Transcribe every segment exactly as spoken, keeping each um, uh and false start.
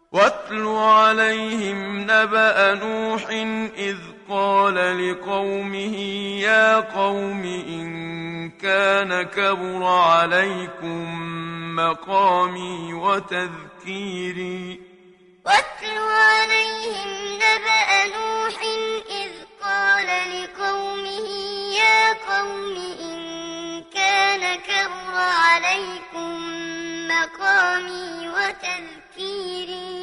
واتل عليهم نبأ نوح إذ قال لقومه يا قوم إن كان كبر عليكم مقامي وتذكيري واتل عليهم نبأ نوح إذ قال لقومه يا قوم إن كان كبر عليكم مقامي وتذكيري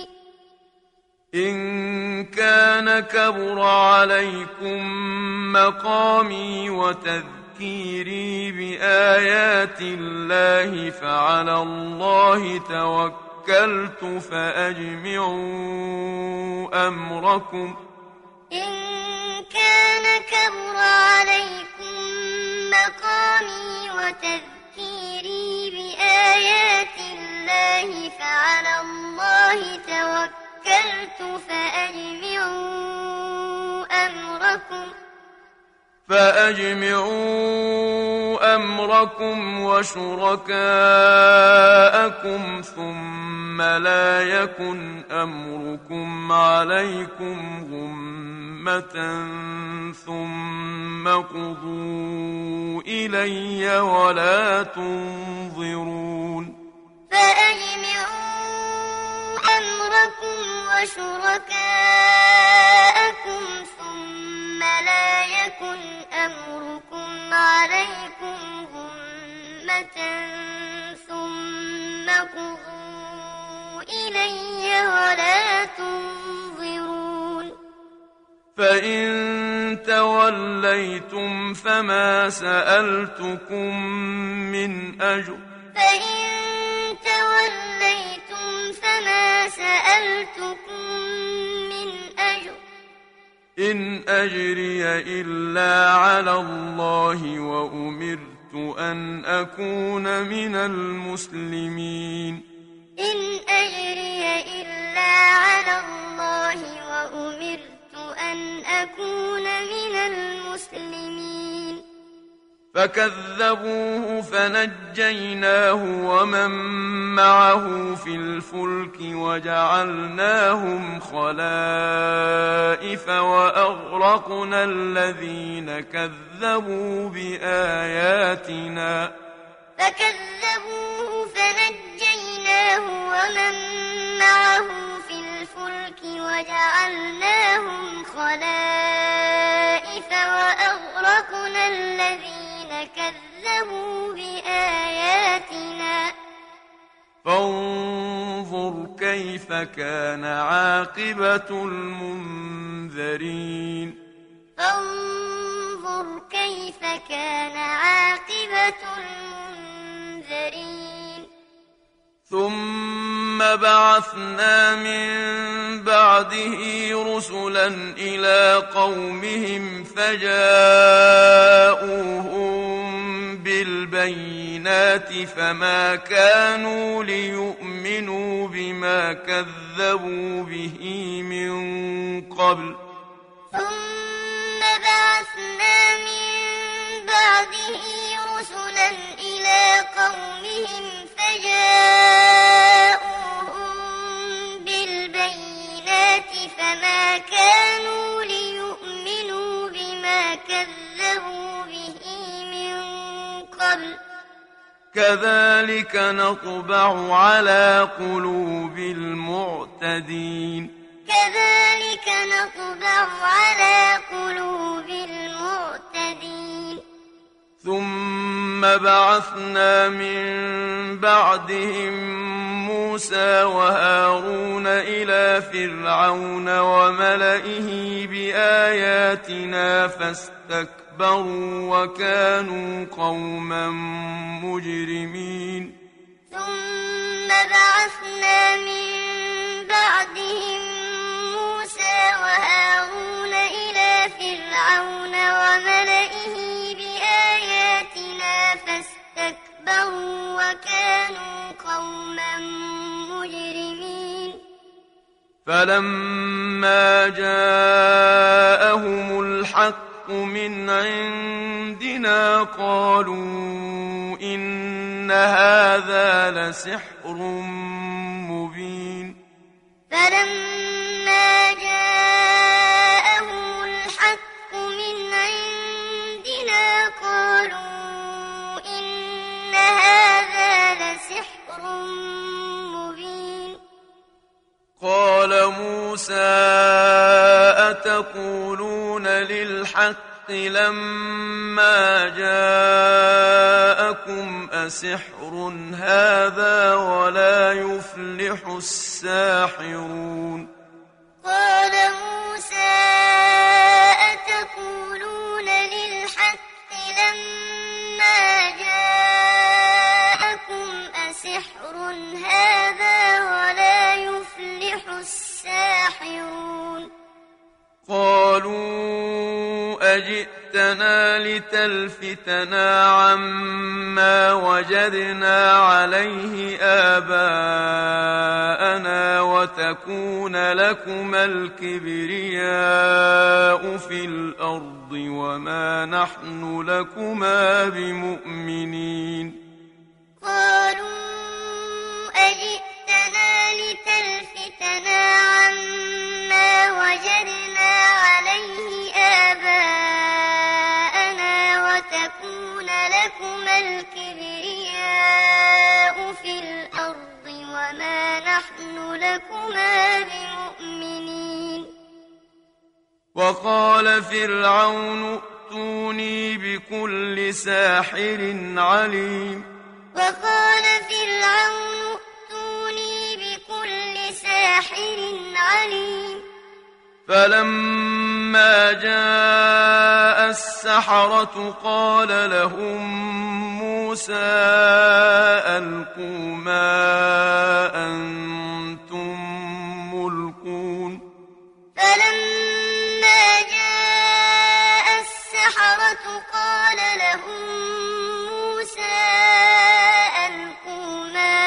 إن كان كبر عليكم مقامي وتذكيري بآيات الله فعلى الله توكلت فأجمعوا أمركم إن كان كبر عليكم مقامي وتذكيري بآيات الله فعلى الله توكلت فأجمعوا أمركم فأجمعوا أمركم وشركاءكم ثم لا يكن أمركم عليكم غمة ثم قضوا إلي ولا تنظرون فأجمعوا أمركم وشركاءكم ثم لا يكن أمركم عليكم غمة ثم قضوا إلي ولا تنظرون فإن توليتم فما سألتكم من أجر فإن توليتم فما سألتكم من أجر إن أجري إلا على الله وأمرت أن أكون من المسلمين إن أجري إلا على الله وأمرت أن أكون من المسلمين فكذبوه فنجيناه ومن معه في الفلك وجعلناهم خلائف وأغرقنا الذين كذبوا بآياتنا فكذبوه فنجيناه ومن معه في الفلك وجعلناهم خلائف وأغرقنا الذين كذبوا بآياتنا فانظر كيف كان عاقبة المنذرين فانظر كيف كان عاقبة المنذرين ثم بعثنا من بعده رسلا إلى قومهم فجاءوهم بالبينات فما كانوا ليؤمنوا بما كذبوا به من قبل ثم بعثنا من بعده رسلا إلى قومهم فجاءوهم بالبينات فما كانوا ليؤمنوا بما كذبوا به من قبل كذلك نطبع على قلوب المعتدين كذلك نطبع على قلوب المعتدين ثم بعثنا من بعدهم موسى وهارون إلى فرعون وملئه بآياتنا فاستكبروا وكانوا قوما مجرمين ثم بعثنا من بعدهم موسى وهارون إلى فرعون وملئه بآياتنا فاستكبروا وكانوا قوما مجرمين فلما جاءهم الحق من عندنا قالوا إن هذا لسحر مبين فلما جاءهم الحق من عندنا قالوا إن هذا لسحر مبين قال موسى أتقولون للحق لما جاءكم أسحر هذا ولا يفلح الساحرون قال موسى أتقولون للحق لما جاءكم أسحر هذا ولا يفلح الساحرون قالوا أجئتنا لتلفتنا عما وجدنا عليه آباءنا وتكون لكما الكبرياء في الأرض وما نحن لكما بمؤمنين قالوا أجئتنا لتلفتنا عما وجدنا عليه آباءنا وتكون لكما الكبرياء في الأرض وما نحن لكما بمؤمنين وقال فرعون ائتوني بكل ساحر عليم وقال فرعون ائتوني بكل ساحر عليم فلما جاء السحرة قال لهم موسى ألقوا ما أنتم ملقون فلما جاء السحرة قال لهم موسى ألقوا ما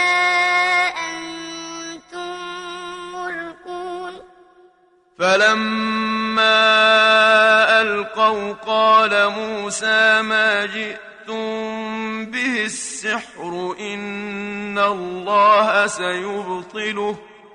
أنتم ملقون فلما ألقوا قال موسى ما جئتم به السحر إن الله سيبطله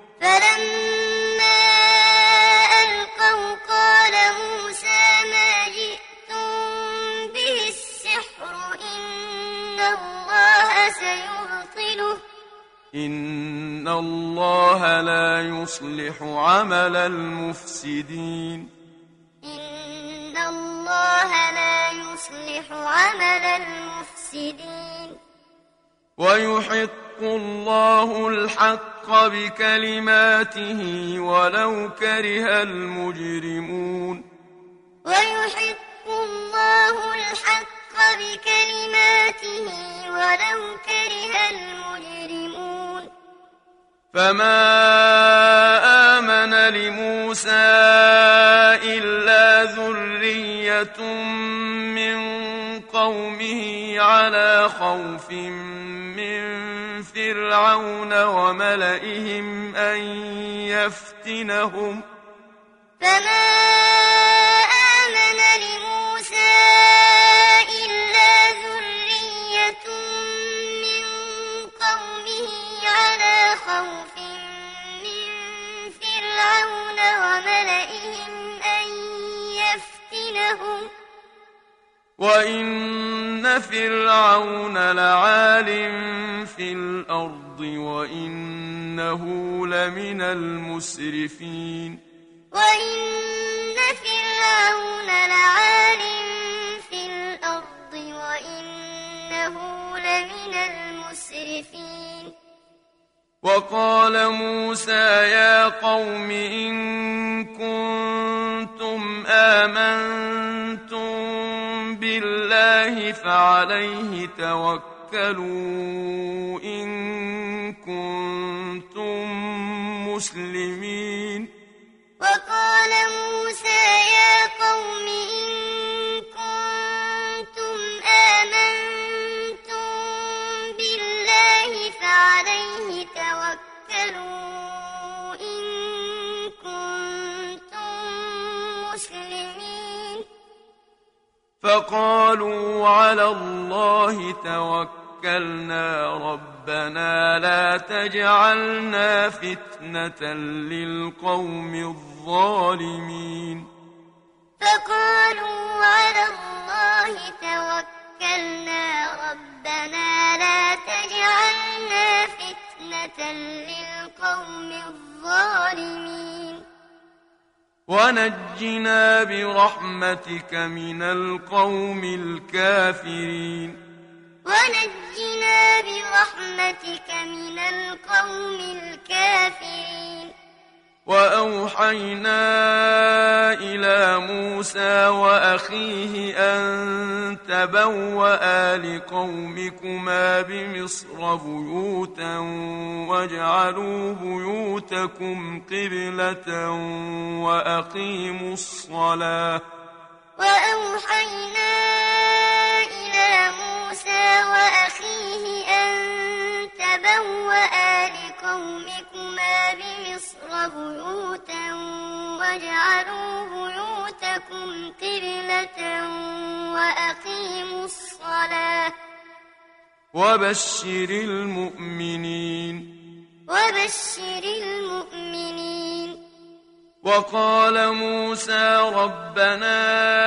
فلما ألقوا قال موسى ما جئتم به السحر إن الله سيبطله إن الله لا يصلح عمل المفسدين إن الله لا يصلح عمل المفسدين ويحق الله الحق بكلماته ولو كره المجرمون ويحق الله الحق بكلماته ولو كره المجرمون فما آمن لموسى إلا ذرية من قومه على خوف من فرعون وملئهم أن يفتنهم فما آمن لموسى إلا ذرية من قومه على خوف من فرعون وملئهم أن يفتنهم وإن فرعون لعال في الأرض وإنه لمن المسرفين وإن فرعون لعال في الأرض وإنه لمن المسرفين وقال موسى يا قوم إن كنتم آمنتم بالله فعليه توكلوا إن كنتم مسلمين وقال موسى يا قوم إن كنتم آمنتم بالله فعليه توكلوا إن كنتم مسلمين فقالوا على الله توكلنا توكلنا ربنا لا تجعلنا فتنة للقوم الظالمين فقالوا على الله توكلنا ربنا لا تجعلنا فتنة للقوم الظالمين ونجنا برحمتك من القوم الكافرين ونجنا برحمتك من القوم الكافرين وأوحينا إلى موسى وأخيه أن تبوأ لقومكما بمصر بيوتا واجعلوا بيوتكم قبلة وأقيموا الصلاة وأوحينا إلى موسى وأخيه أن تبوأ لقومكما بمصر بيوتا واجعلوا بيوتكم قبلة وأقيموا الصلاة وبشر المؤمنين وبشر المؤمنين وقال موسى ربنا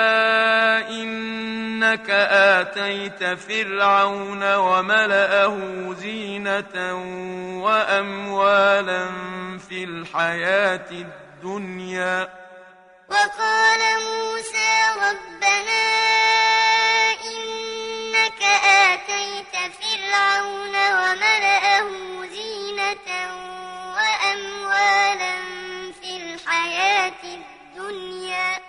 إنك آتيت فرعون وملأه زينة وأموالا في الحياة الدنيا وقال موسى ربنا إنك آتيت فرعون وملأه زينة وأموالا في الحياة الدنيا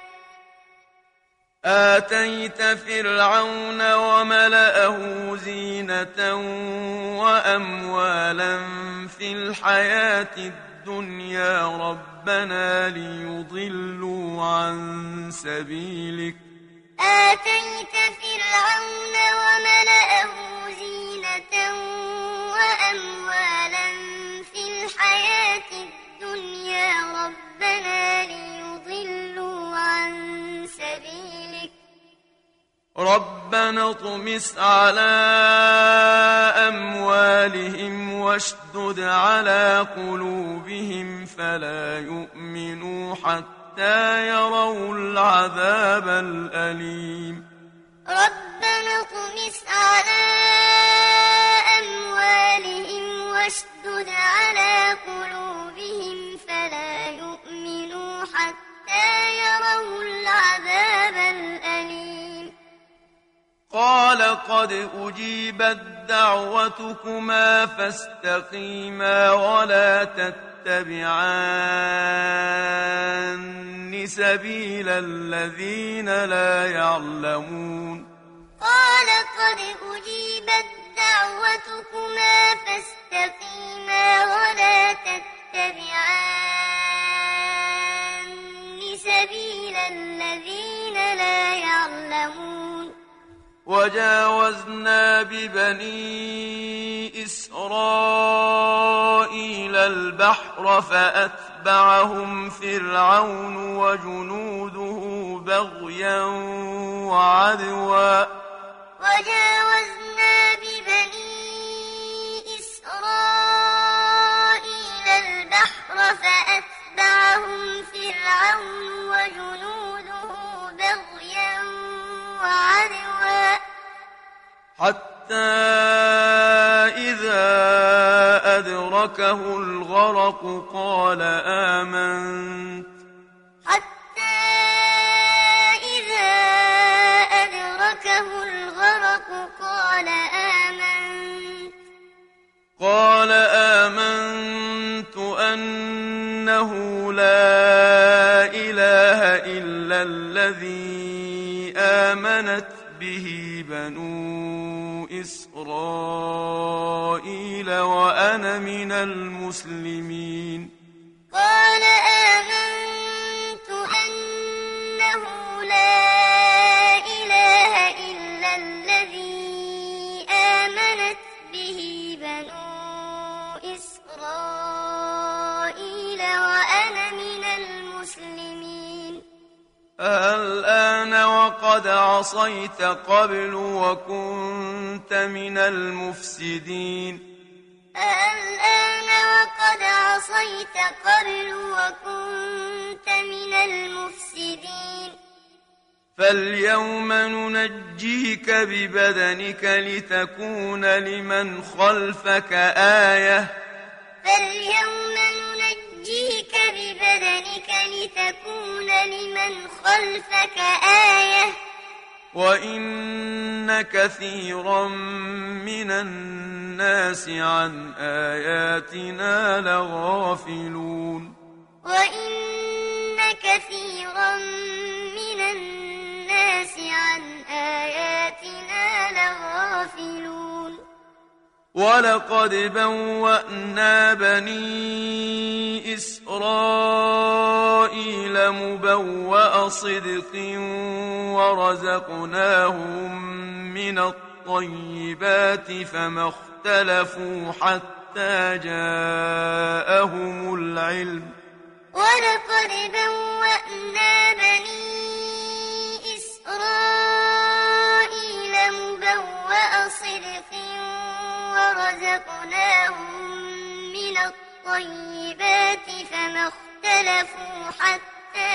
آتيت فرعون وملأه زينة وأموالا في الحياة الدنيا ربنا ليضلوا عن سبيلك آتيت فرعون وملأه زينة وأموالا في الحياة الدنيا ربنا ليضلوا عن سبيلك ربنا اطمس على أموالهم واشدد على قلوبهم فلا يؤمنوا حتى يروا العذاب الأليم ربنا اطمس على أموالهم واشدد على قلوبهم فلا يؤمنوا حتى يروا العذاب الأليم قال قد أجيبت دعوتكما فاستقيما ولا تتبعان سبيل الذين لا يعلمون قال قد أجيبت دعوتكما فاستقيما ولا تتبعان سبيل الذين لا يعلمون وجاوزنا ببني إسرائيل البحر فأتبعهم فرعون وجنوده بغيا وعدوا وجاوزنا ببني إسرائيل البحر فأتبعهم فرعون وجنوده بغيا وعدوا حتى إذا أدركه الغرق قال آمنت حتى إذا أدركه الغرق قال آمنت قال آمنت أنه لا إله إلا الذي آمنت به بنو إسرائيل وأنا من المسلمين قال آمنت أنه لا إله إلا الذي آمنت به بنو إسرائيل وأنا من المسلمين الآن وقد عصيت قبل وكنت من المفسدين الآن وقد عصيت قبل وكنت من المفسدين فاليوم ننجيك ببدنك لتكون لمن خلفك آية فاليوم ننجيك ببدنك لتكون لمن خلفك آية وإن كثيرا من الناس عن آياتنا لغافلون وإن كثيرا من الناس عن آياتنا لغافلون ولقد بوأنا بني إسرائيل مبوأ صدق ورزقناهم من الطيبات فما اختلفوا حتى جاءهم العلم ولقد بوأنا بني إسرائيل مبوأ صدق ورزقناهم من الطيبات فما اختلفوا حتى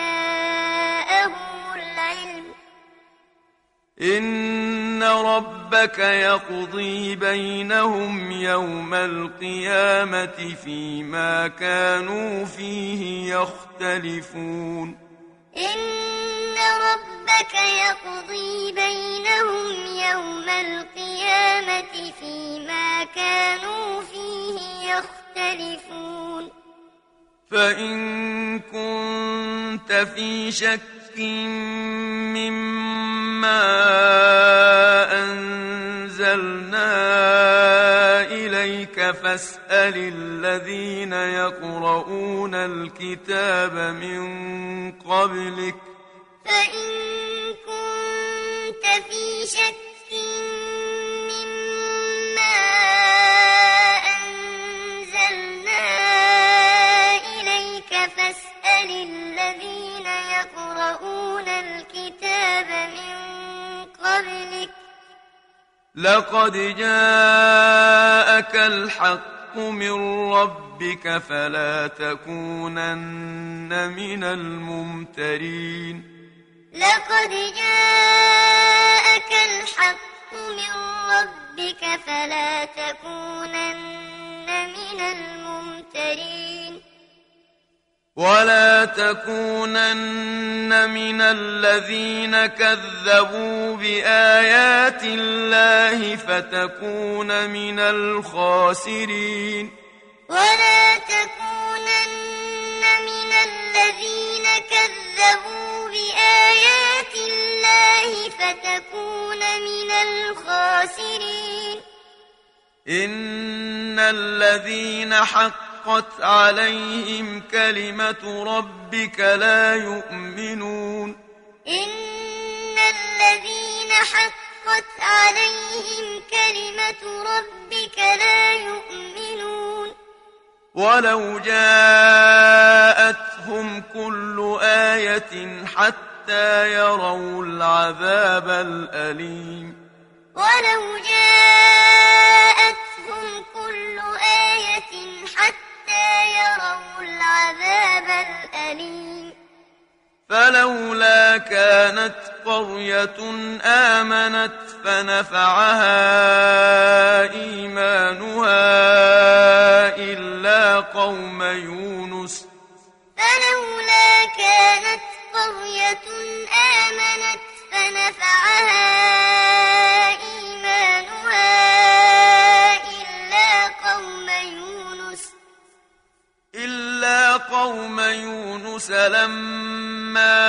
جاءهم العلم إن ربك يقضي بينهم يوم القيامة فيما كانوا فيه يختلفون إن ربك يقضي بينهم يوم القيامة فيما كانوا فيه يختلفون فإن كنت في شك مما أنزلنا إليك فاسأل الذين يقرؤون الكتاب من قبلك فإن كنت في شك مما أنزلنا إليك فاسأل الذين يقرؤون الكتاب من قبلك لقد جاءك الحق من ربك فلا تكونن من الممترين لقد جاءك الحق من ربك فلا تكونن من الممترين ولا تكونن من الذين كذبوا بآيات الله فتكون من الخاسرين ولا تكونن من الذين كذبوا بآيات الله فتكون من الخاسرين إن الذين حقت عليهم كلمة ربك لا يؤمنون إن الذين حقت عليهم كلمة ربك لا يؤمنون ولو جاءتهم كل آية حتى يروا العذاب الأليم ولو جاءتهم كل آية حتى يروا العذاب الأليم فلولا كانت قرية آمنت فنفعها إيمانها إلا قوم يونس فلولا كانت قرية آمنت فنفعها إيمانها إلا قوم يونس إلا قوم يونس لما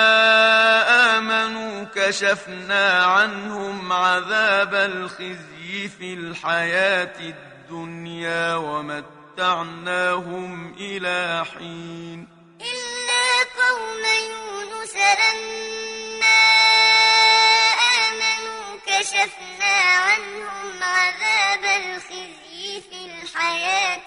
آمنوا كشفنا عنهم عذاب الخزي في الحياة الدنيا ومتعناهم إلى حين إلا قوم يونس لما آمنوا كشفنا عنهم عذاب الخزي في الحياة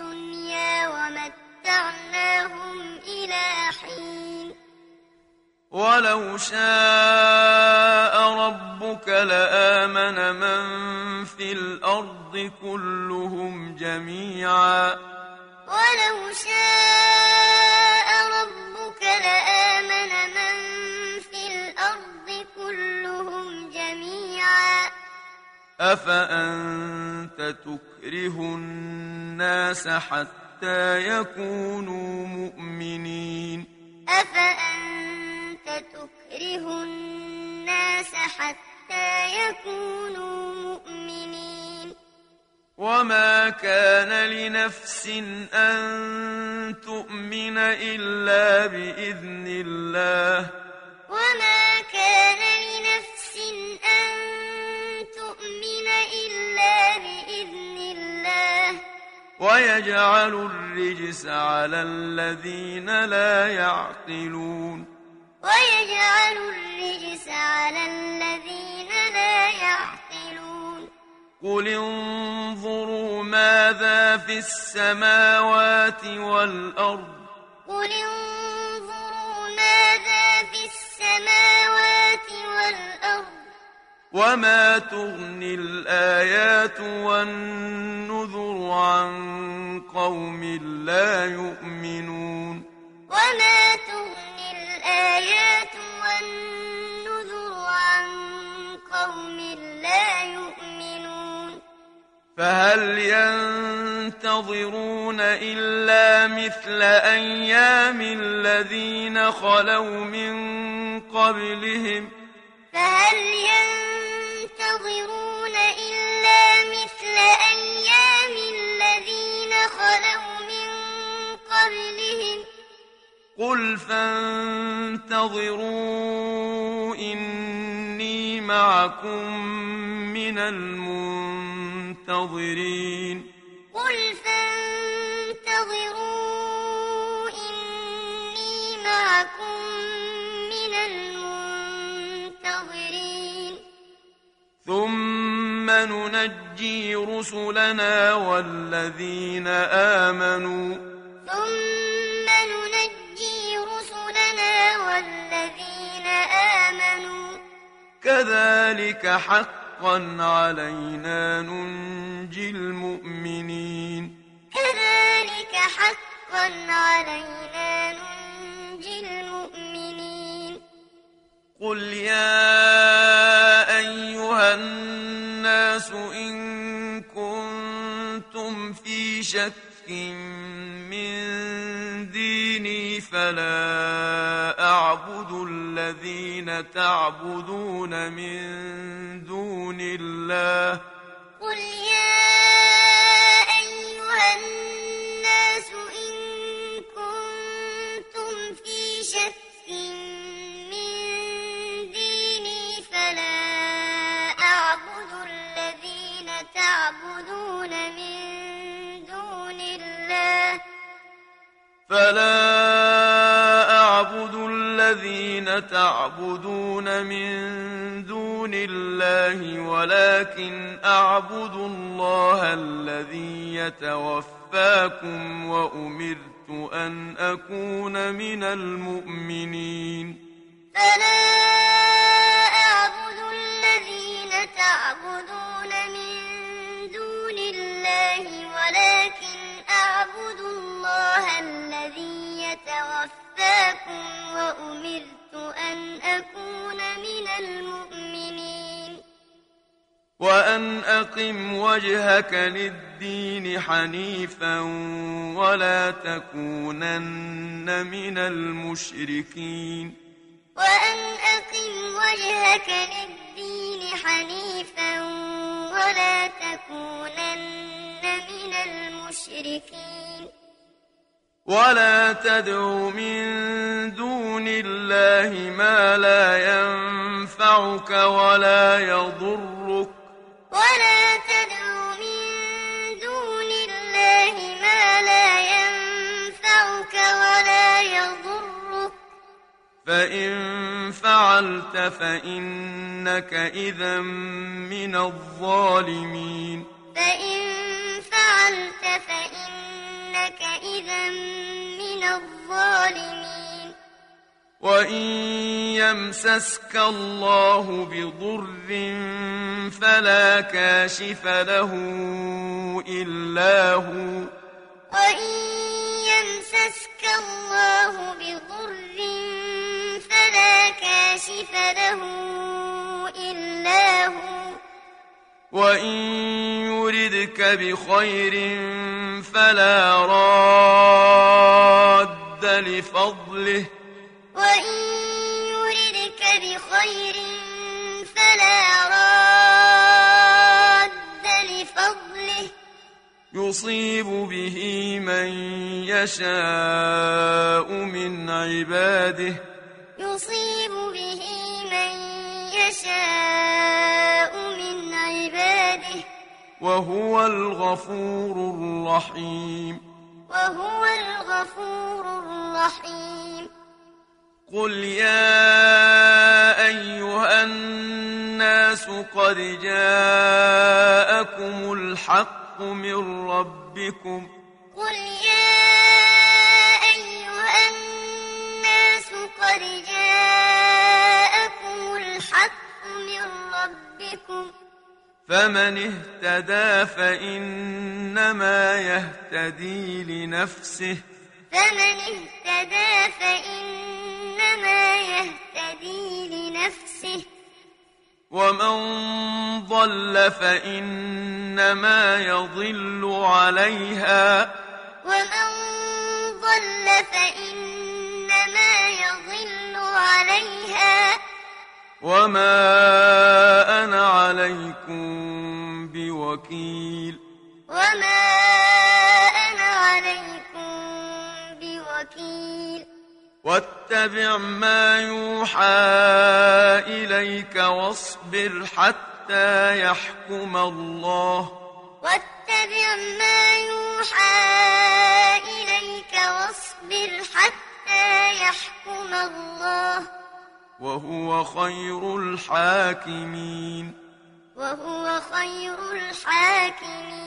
الدنيا ومتعناهم إلى حين ولو شاء ربك لآمن من في الأرض كلهم جميعا ولو شاء ربك لآمن من في الأرض كلهم جميعا أفأنت تكره الناس حتى يكونوا مؤمنين أفأنت تكره الناس حتى يكونوا مؤمنين وما كان لنفس أن تؤمن إلا بإذن الله وما كان لنفس أن تؤمن إلا بإذن الله ويجعل الرجس على الذين لا يعقلون ويجعل الرجس على الذين لا يعقلون قل انظروا ماذا في السماوات والأرض قل انظروا ماذا في السماوات والأرض وما تغني الآيات والنذر عن قوم لا يؤمنون وما تغني الآيات والنذر عن قوم لا يؤمنون فهل ينتظرون إلا مثل أيام الذين خلوا من قبلهم فهل ينتظرون إلا مثل أيام الذين خلوا من قبلهم قل فانتظروا إني معكم من المنتظرين قل فانتظروا إني معكم من المنتظرين ثم ننجي رسلنا والذين آمنوا ثم ننجي رسلنا والذين آمنوا كذلك حقا علينا ننجي المؤمنين كذلك حقا علينا ننجي المؤمنين قل يا أيها الناس إن كنتم في شك من ديني فلا أعبد الذين تعبدون من دون الله قل يا أيها الناس إن كنتم في شك من ديني فلا أعبد الذين تعبدون من دون الله فلا أعبد الذين تعبدون من دون الله ولكن أعبد الله الذي يتوفاكم وأمرت أن أكون من المؤمنين فلا أعبد الذين تعبدون من دون الله ولكن أعبد الله الذي يتوفاكم وأمرت أن أكون من المؤمنين وأن أقم وجهك للدين حنيفا ولا تكونن من المشركين وأن أقم وجهك للدين حنيفا ولا تكونن من المشركين ولا تدع من دون الله ما لا ينفعك ولا يضرك ولا تدع من دون الله ما لا ينفعك ولا يضرك فإن فعلت فإنك إذا من الظالمين فإن فعلت فإنك إذا من الظالمين وإن يمسسك الله بضر فلا كاشف له إلا هو وإن يمسسك الله بضر فلا كاشف له إلا هو وإن يردك بخير فلا راد لفضله وإن يردك بخير فلا راد لفضله يصيب به من يشاء من عباده يصيب به من يشاء من عباده وهو الغفور الرحيم وهو الغفور الرحيم قل يا أيها الناس قد جاءكم الحق من ربكم قل يا أيها الناس قد جاءكم الحق من ربكم فمن اهتدى فإنما يهتدي لنفسه فمن اهتدى فإنما يهتدي لنفسه ومن ضل فإنما يضل عليها ومن ضل فإنما يضل عليها وما أنا عليكم بوكيل وما أنا عليكم بوكيل واتبع ما يوحى إليك واصبر حتى يحكم الله واتبع ما يوحى إليك واصبر حتى يحكم الله وهو خير الحاكمين وهو خير الحاكمين